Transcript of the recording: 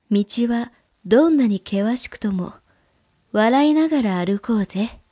道はどんなに険しくとも、笑いながら歩こうぜ。